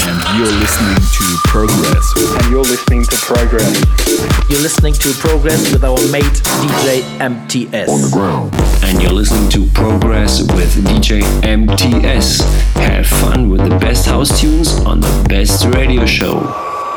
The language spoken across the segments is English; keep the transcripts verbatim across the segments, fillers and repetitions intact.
And you're listening to Progress. And you're listening to Progress. You're listening to Progress with our mate D J M T S. On the ground. And you're listening to Progress with D J M T S. Have fun with the best house tunes on the best radio show.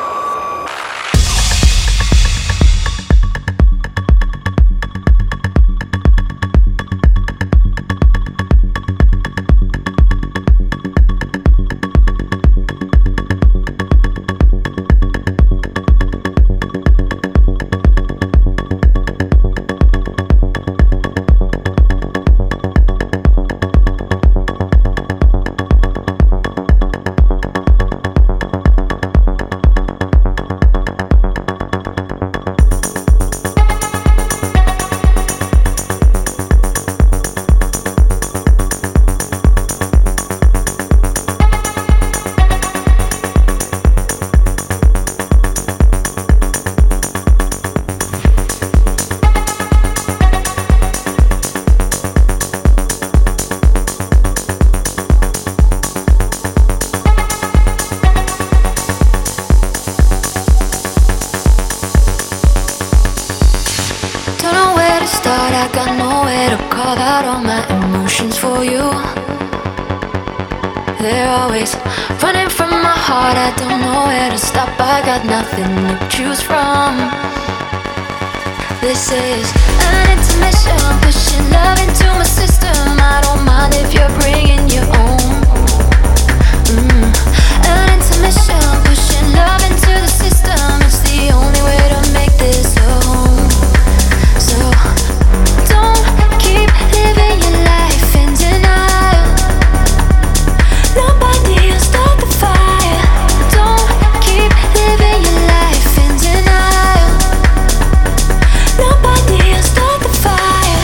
Nothing to choose from. This is an intermission, pushing love into my system. I don't mind if you're bringing your own. Mm. An intermission, pushing love into the system. It's the only way to make this a home. So don't keep living your life in denial. Nobody will start the fire. Don't keep living your life in denial. Nobody will start the fire.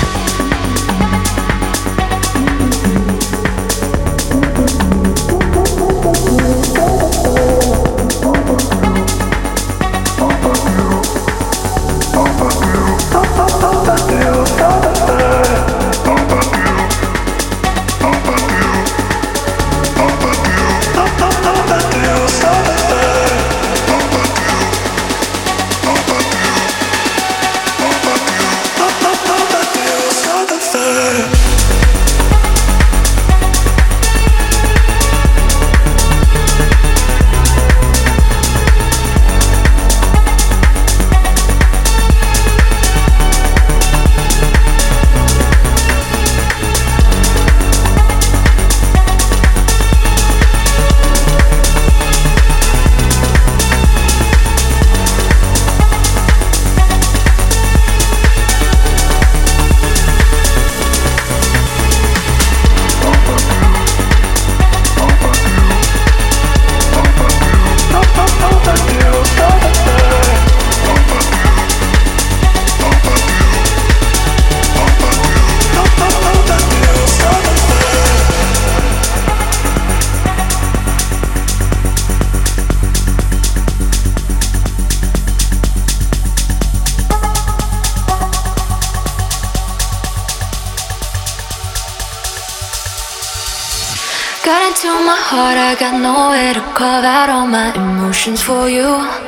Got into my heart, I got nowhere to carve out all my emotions for you.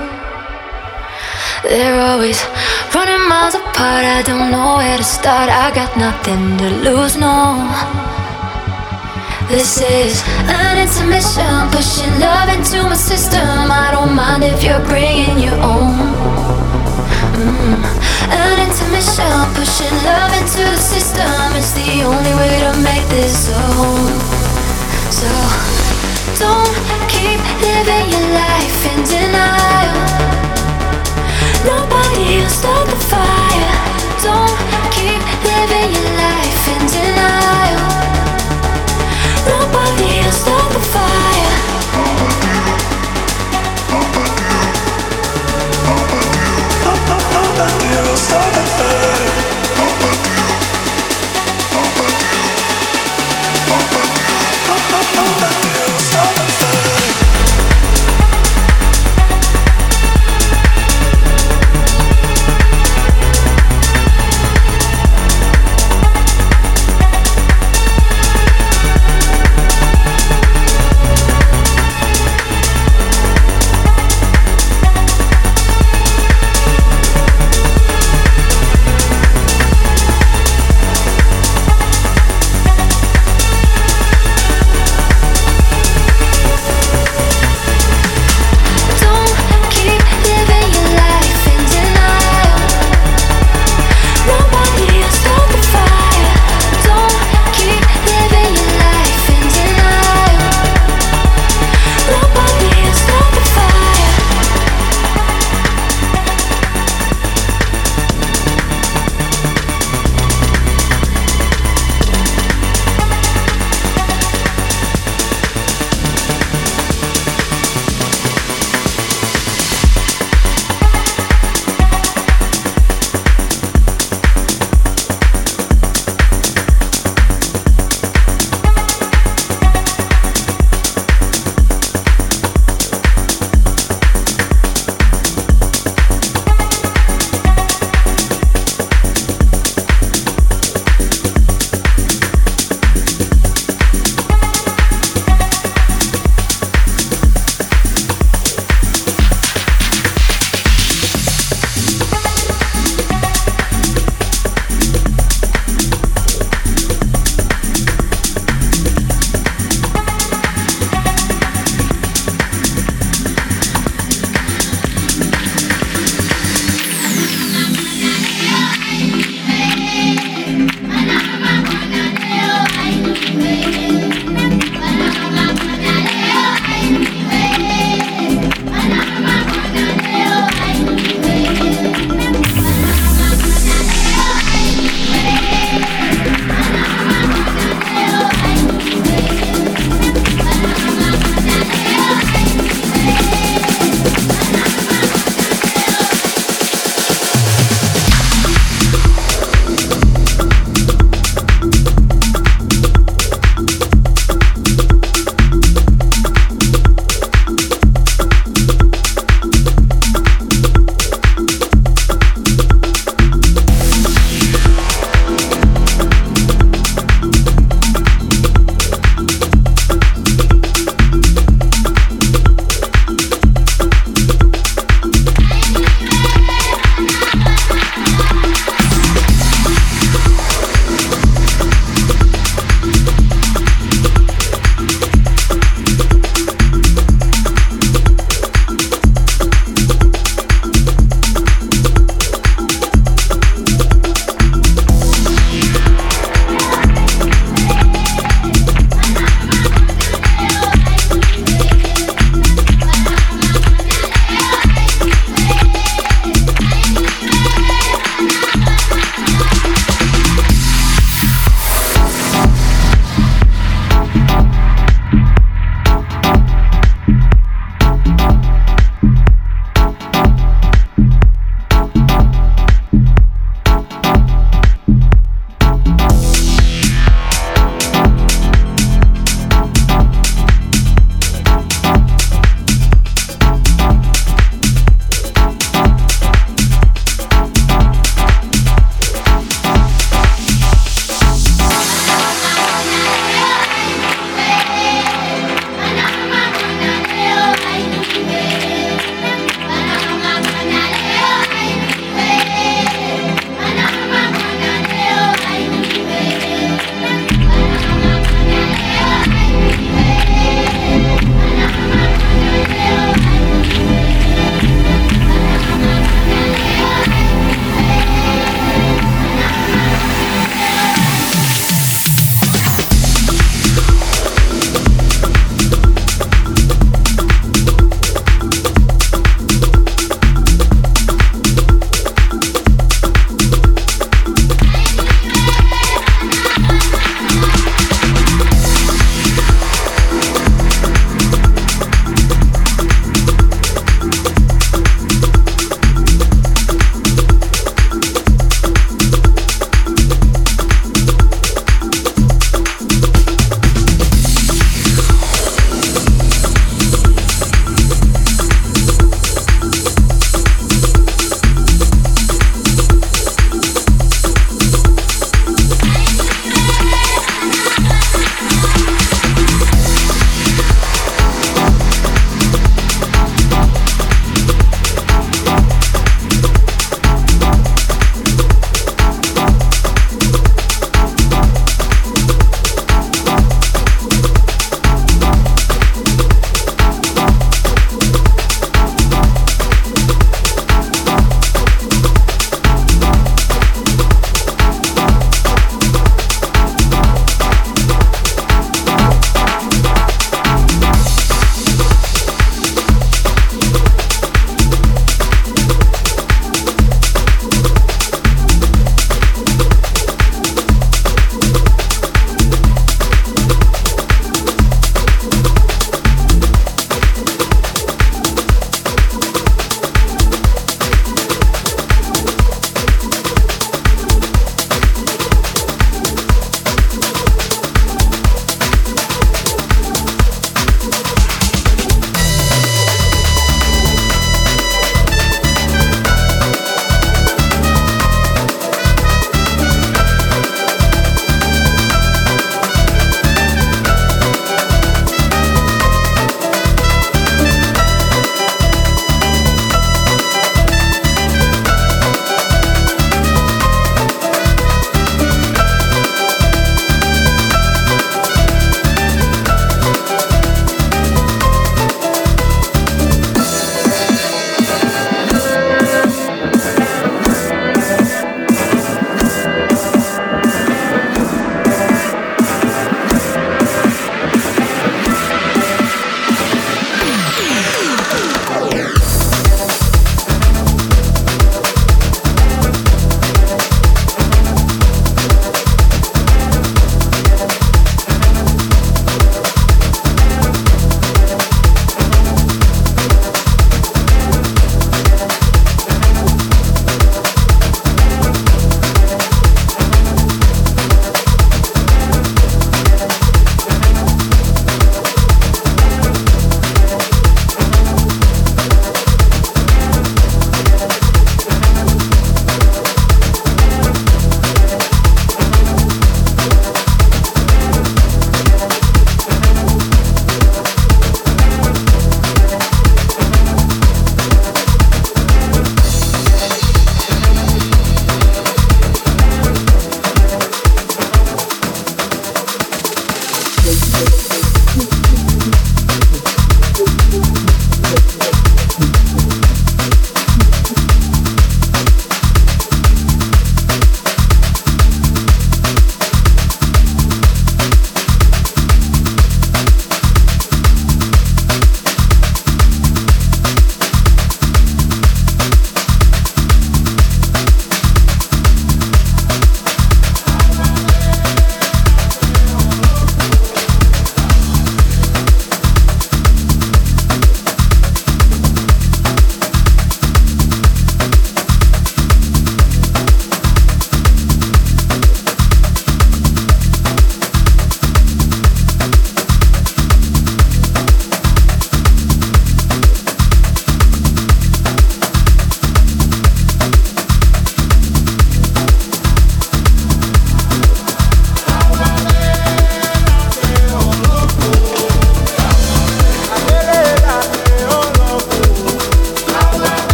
They're always running miles apart, I don't know where to start. I got nothing to lose, no. This is an intermission, pushing love into my system. I don't mind if you're bringing your own. Mm. An intermission, pushing love into the system. It's the only way to make this a home. So don't keep living your life in denial. Nobody will start the fire. Don't keep living your life in denial. Nobody will start the fire. Nobody will start the fire. Nobody will start the fire.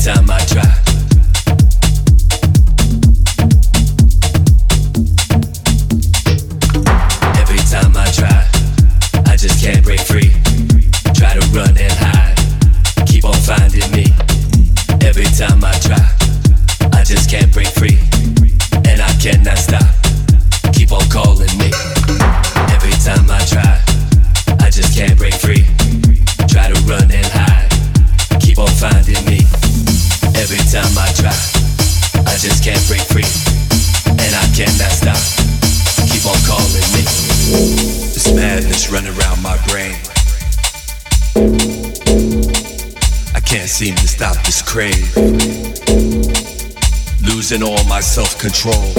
time I try. Every time I try, I just can't break free. Try to run and hide, keep on finding me. Every time I try, I just can't break free. And I cannot stop, keep on calling me. Every time I try, I just can't break free. Try to run and hide, keep on finding me. Every time I try, I just can't break free. And I cannot stop, keep on calling me. This madness running around my brain. I can't seem to stop this crave. Losing all my self-control.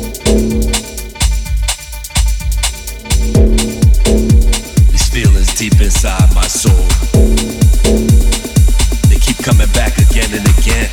These feelings deep inside my soul, they keep coming back again and again.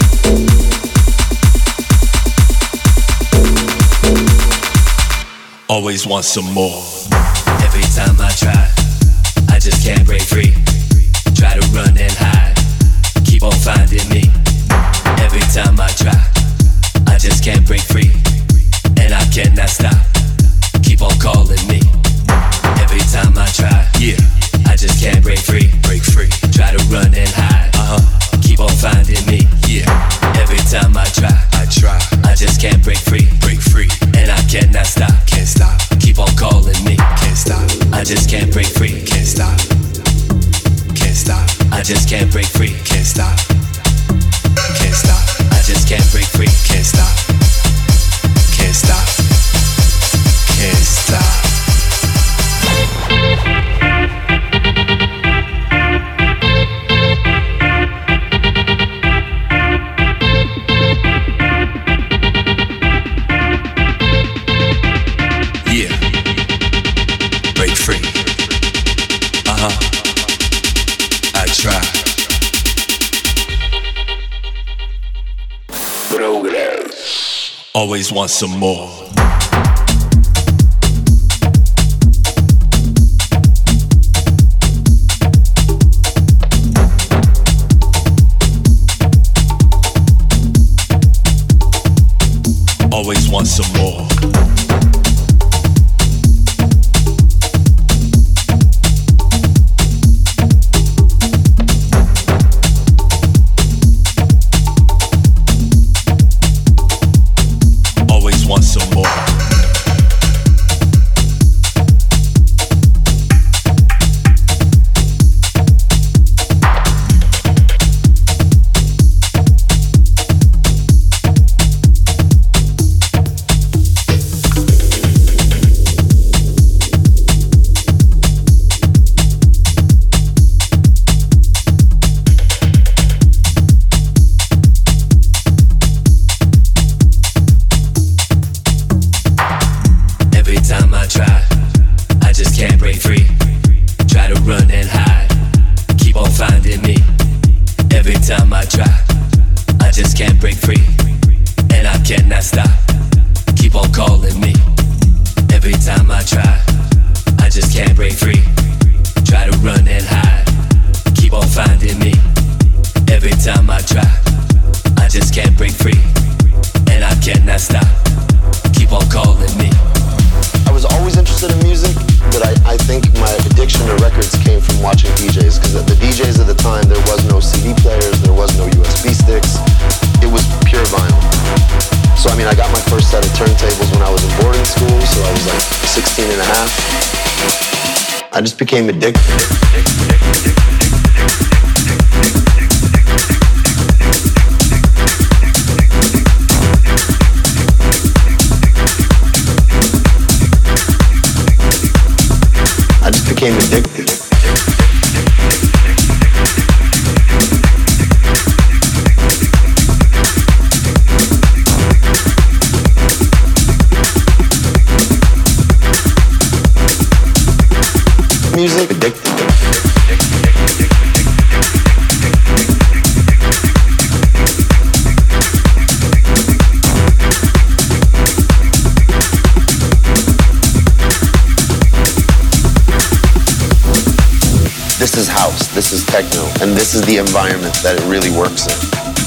Always want some more. Every time I try, I just can't break free. Try to run and hide, keep on finding me. Every time I try, I just can't break free. And I cannot stop, keep on calling me. Every time I try, yeah, I just can't break free. Break free. Try to run and hide, uh-huh, keep on finding me. Yeah. Every time I try, I try, I just can't break free. Break free. And I cannot stop, can't stop, keep on calling me. Can't stop, I just can't break free. Can't stop, can't stop, I just can't break free. Can't stop, can't stop, I just can't break free. Can't stop, can't stop, can't stop. Yeah, break free. Uh-huh, I try. Progress. Always want some more. Always want some more. Want some more. I just became addicted. I just became addicted. Music addicted. This is house, this is techno, and this is the environment that it really works in.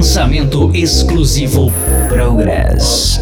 Lançamento exclusivo Progress.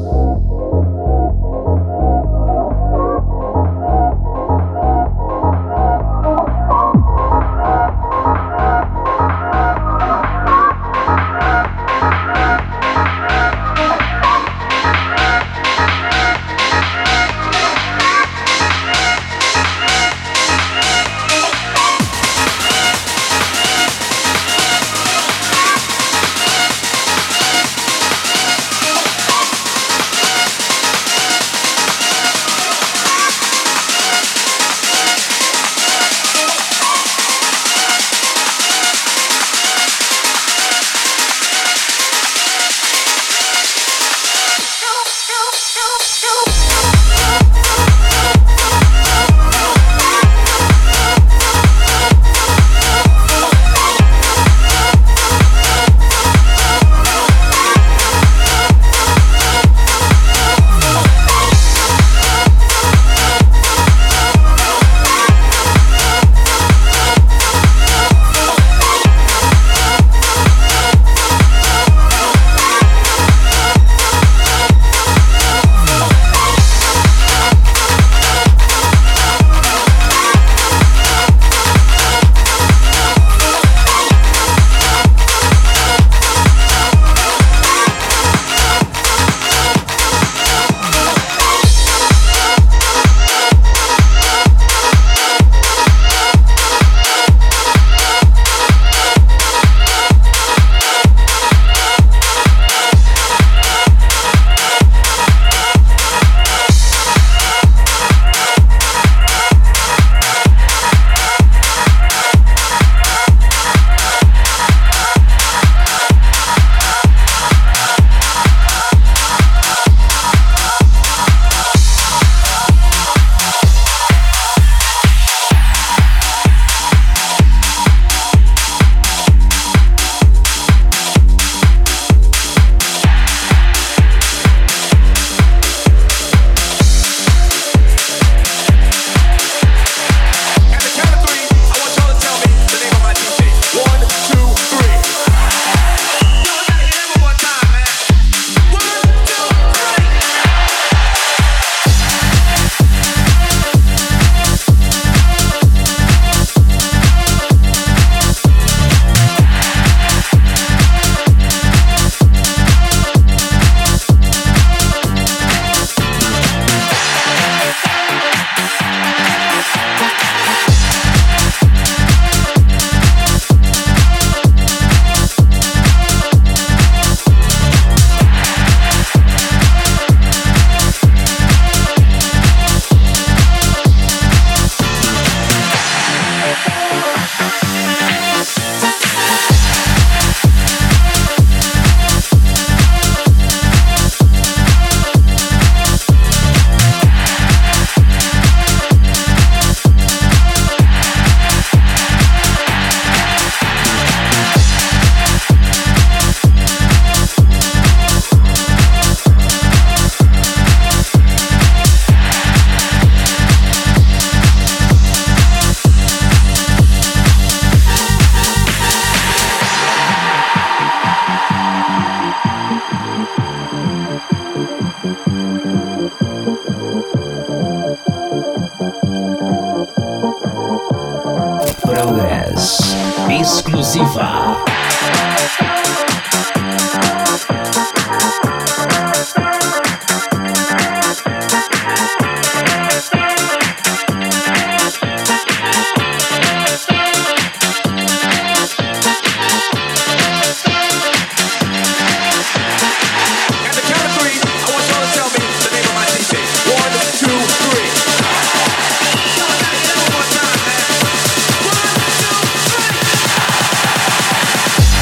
Progress exclusiva. One, two, three.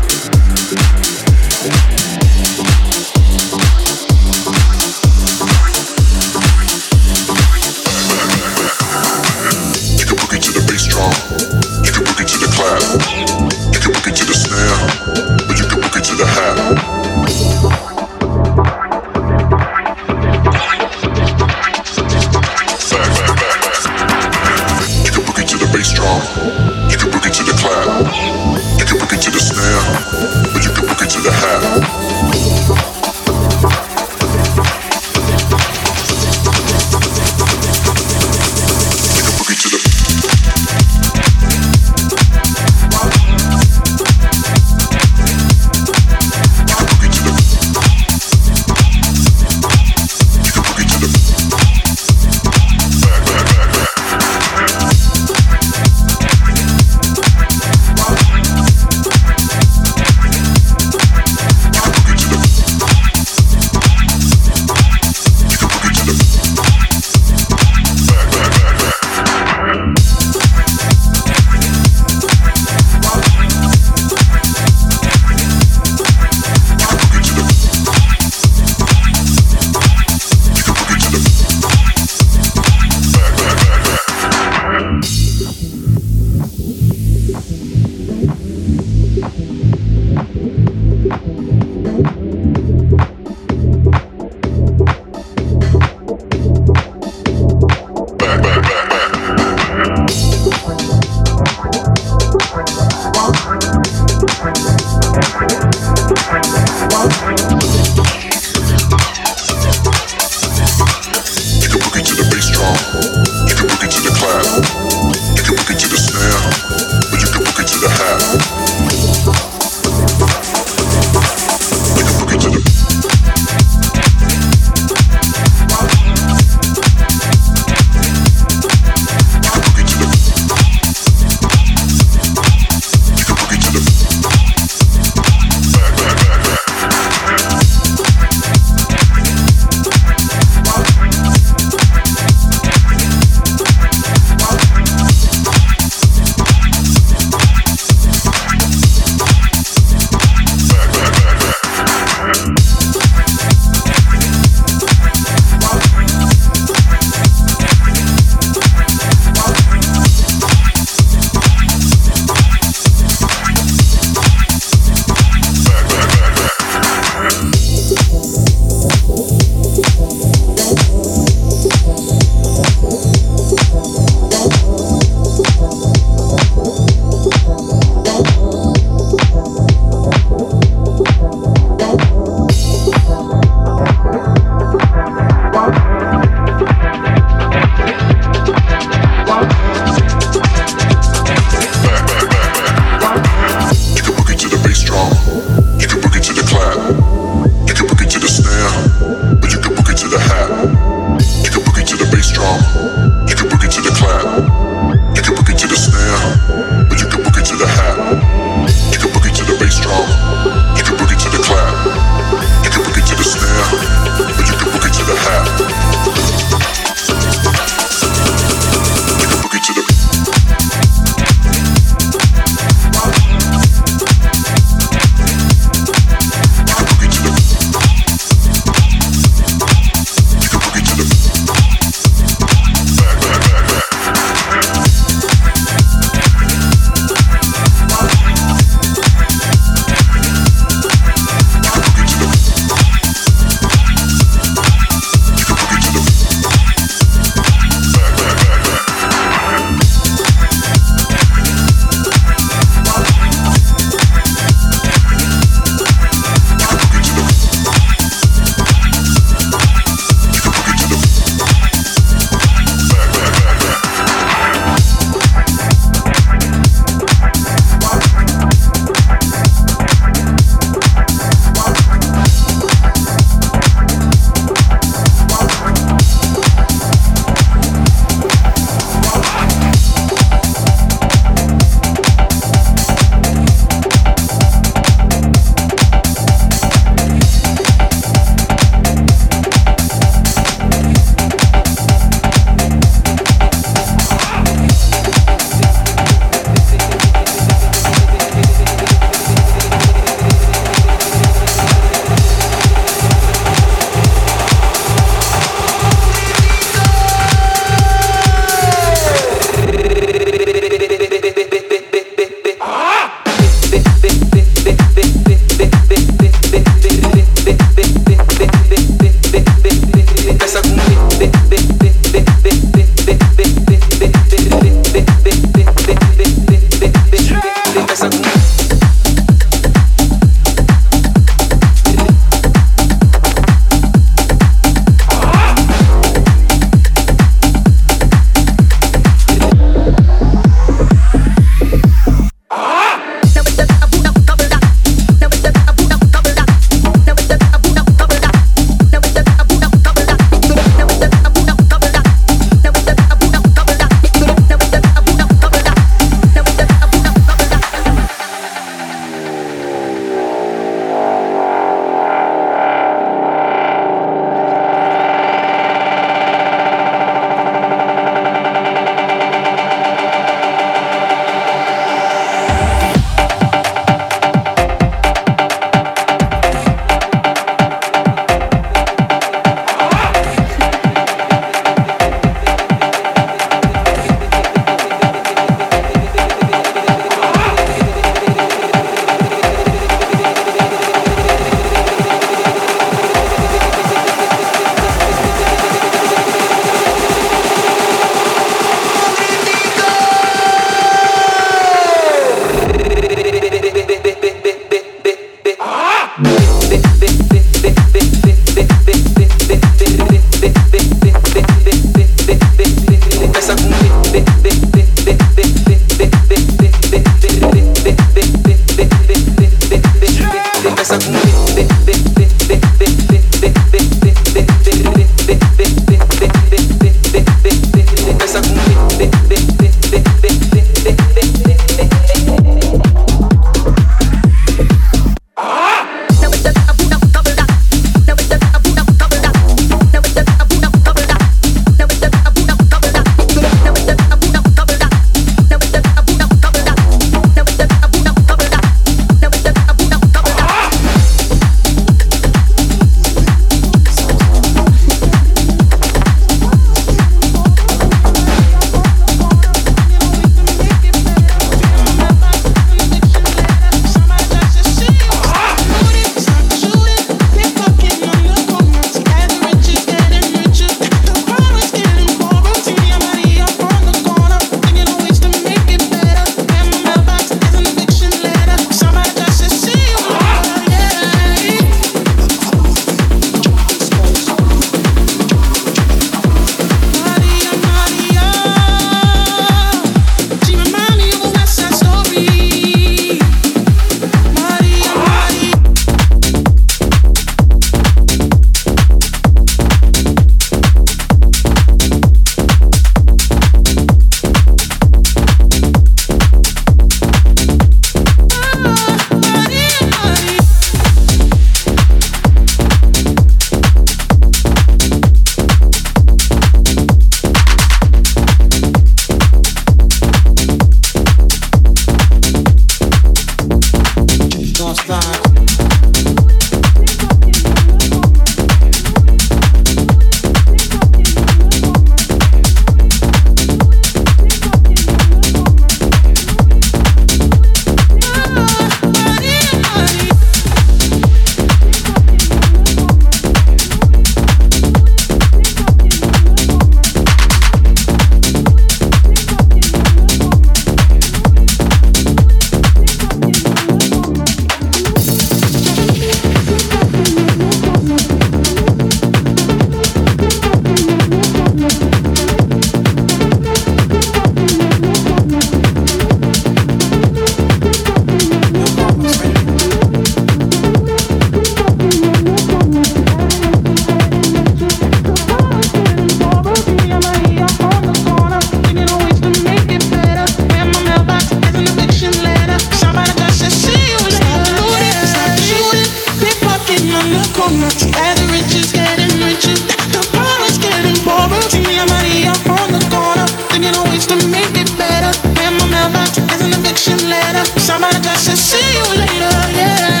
owner. As the rich is getting richer, the poor is getting poorer. See me and Maria on the corner, thinking of ways to make it better. And my mailbox has an eviction letter. Somebody just said, see you later, yeah.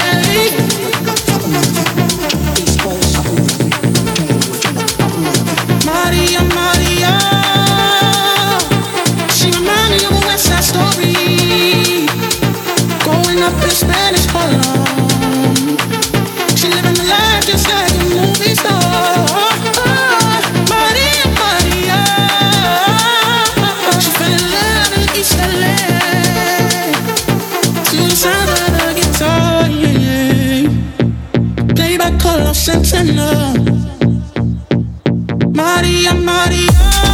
Maria, Maria, she reminded me of a West Side Story. Growing up in Spanish Harlem, she living the life just like a movie star. Maria, Maria, she fell in love in East L A to the sound of the guitar, yeah, yeah. Played by Carlos Santana. Maria, Maria,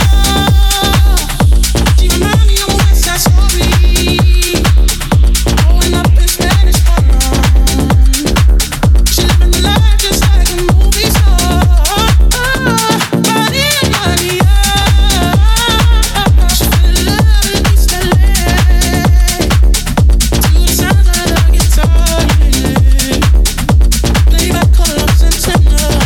she remind me of a West Side Story. Growing up in Spanish Harlem, she living the life just like a movie star. Maria, Maria, she fell in love in East L A to the sound of the guitar, yeah. Played by Carlos Santana.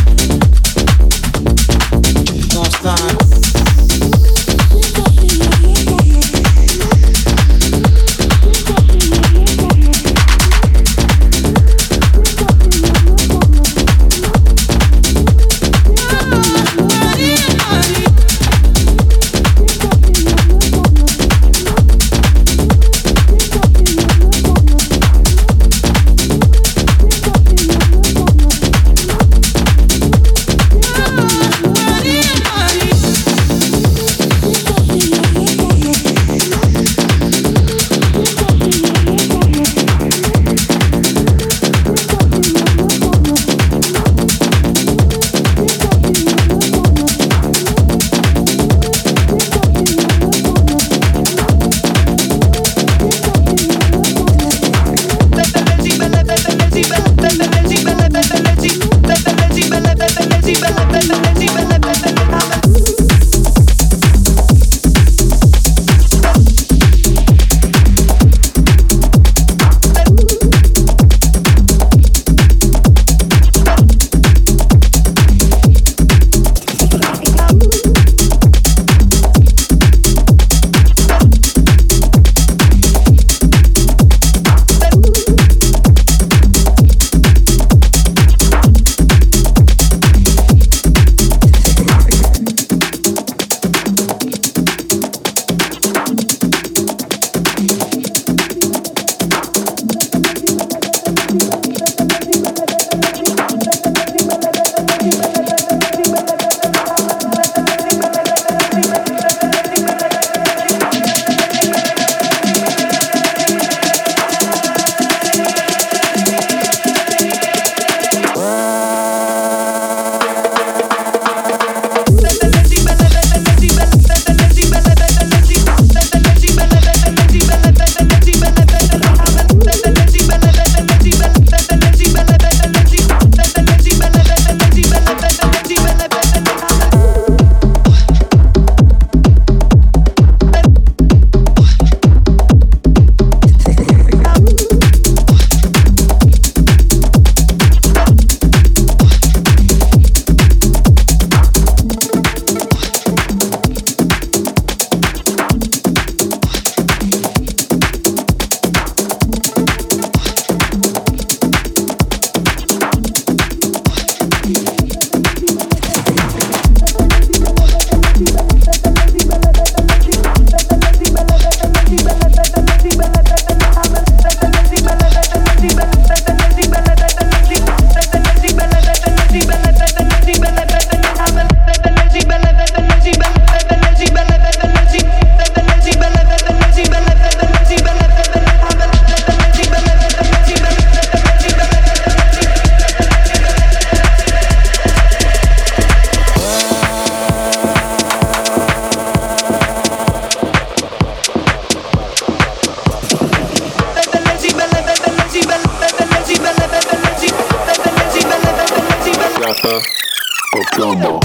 Plomo.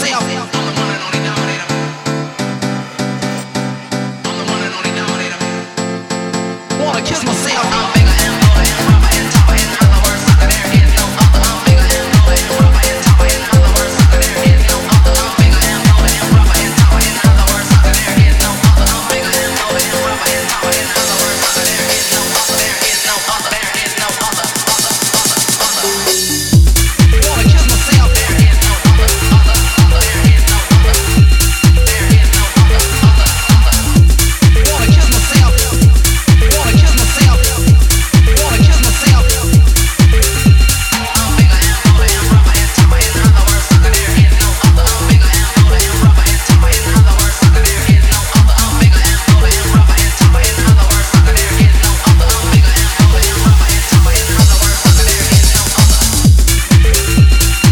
myself. I'm the one and only dominator. I'm the one and only dominator. Wanna kiss myself. I'm bigger and bolder and rougher and tougher. In other words, sucker, there is no other. I'm bigger and bolder and rougher and tougher. In other words, sucker, there is no other. I'm bigger and bolder and rougher and tougher. In other words, sucker, there is no other. I'm bigger and bolder and rougher and tougher. In other words, sucker, there is no other. There is no other. There is no other. Other, other, other. Wanna kiss myself. There is no other. Other, other. There is no other. There is no other. Other, other. Wanna kiss myself. Wanna kiss myself. Wanna kiss myself. I'm bigger and bolder and rougher and tougher. In other words, sucker, there is no other. I'm bigger and bolder and rougher and tougher. In other words, sucker, there is no other. I'm bigger and bolder and rougher and tougher. In other words, sucker, there is no other. I'm bigger and bolder and rougher and tougher. In other words, sucker, there is no other. There is no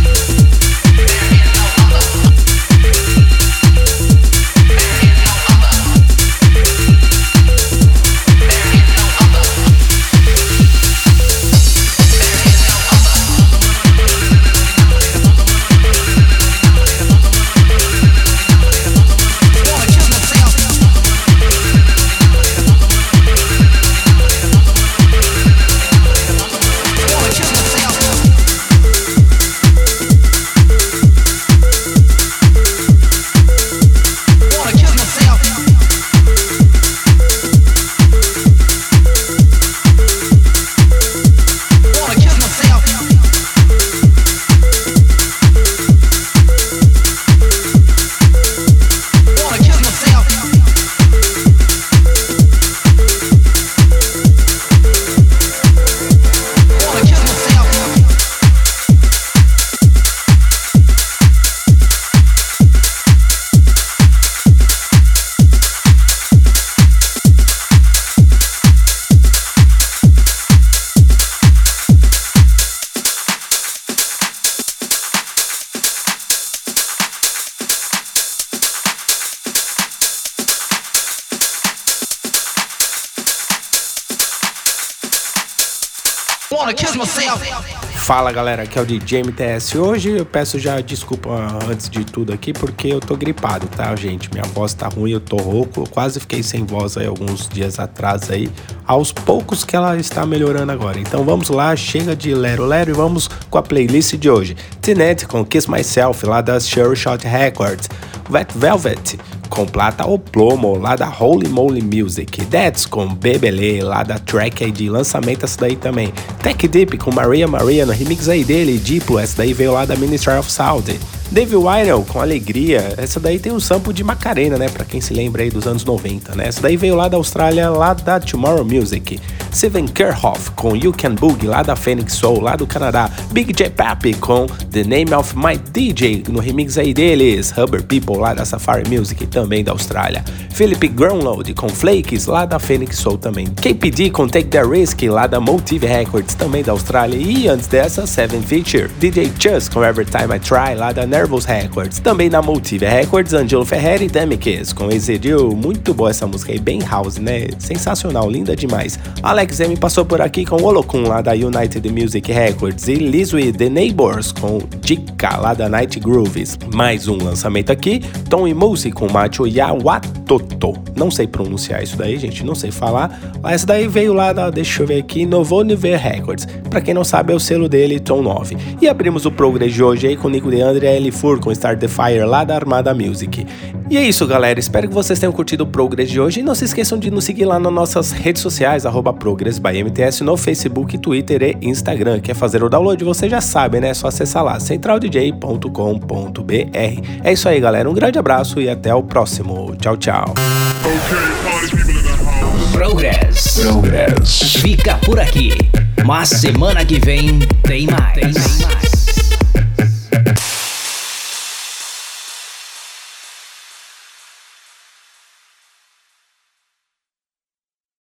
Wanna kiss myself. Fala galera, aqui é o D J M T S. Hoje eu peço já desculpa antes de tudo aqui porque eu tô gripado, tá gente? Minha voz tá ruim, eu tô rouco, eu quase fiquei sem voz aí alguns dias atrás aí. Aos poucos que ela está melhorando agora. Então vamos lá, chega de lero lero e vamos com a playlist de hoje. T-Net com Kiss Myself lá das Sure Shot Records. Wet Velvet com Plata ou Plomo lá da Holy Moly Music. That's com Bebele lá da Track I D, lançamento essa daí também. Tech Deep com Maria Maria no remix aí dele, Diplo, essa daí veio lá da Ministry of Sound. Dave Winehouse com Alegria, essa daí tem um sample de Macarena, né, pra quem se lembra aí dos anos noventa, né, essa daí veio lá da Austrália, lá da Tomorrow Music. Steven Kerhoff com You Can Boogie lá da Phoenix Soul, lá do Canadá. Big J Papi com The Name of My D J no remix aí deles. Rubber People lá da Safari Music, também da Austrália. Philip Groundload com Flakes lá da Phoenix Soul também. K P D com Take That Risk lá da Motive Records, também da Austrália. E antes dessa, Seven Feature, D J Chus com Every Time I Try lá da Nervous Records, também da Motive Records. Angelo Ferreira e Demikis com Exedil, muito boa essa música aí, bem house, né? Sensacional, linda demais. Alex M passou por aqui com Olokun lá da United Music Records e Lizzy The Neighbors com Jika lá da Night Grooves. Mais um lançamento aqui, Tom e Musi com Macho Yawatoto. Não sei pronunciar isso daí, gente, não sei falar. Essa daí veio lá da, deixa eu ver aqui, Novo Niver Records. Pra quem não sabe, é o selo dele, Tom nove. E abrimos o Progress de hoje aí com Nico Deandre e L Fur com Start the Fire lá da Armada Music. E é isso, galera, espero que vocês tenham curtido o Progress de hoje e não se esqueçam de nos seguir lá nas nossas redes sociais, arroba Progress by M T S no Facebook, Twitter e Instagram. Quer fazer o download? Você já sabe, né? É só acessar lá, central d j ponto com ponto b r. É isso aí, galera, um grande abraço e até o próximo. Tchau, tchau. Progress. Progress. Fica por aqui, mas semana que vem tem mais. Tem mais.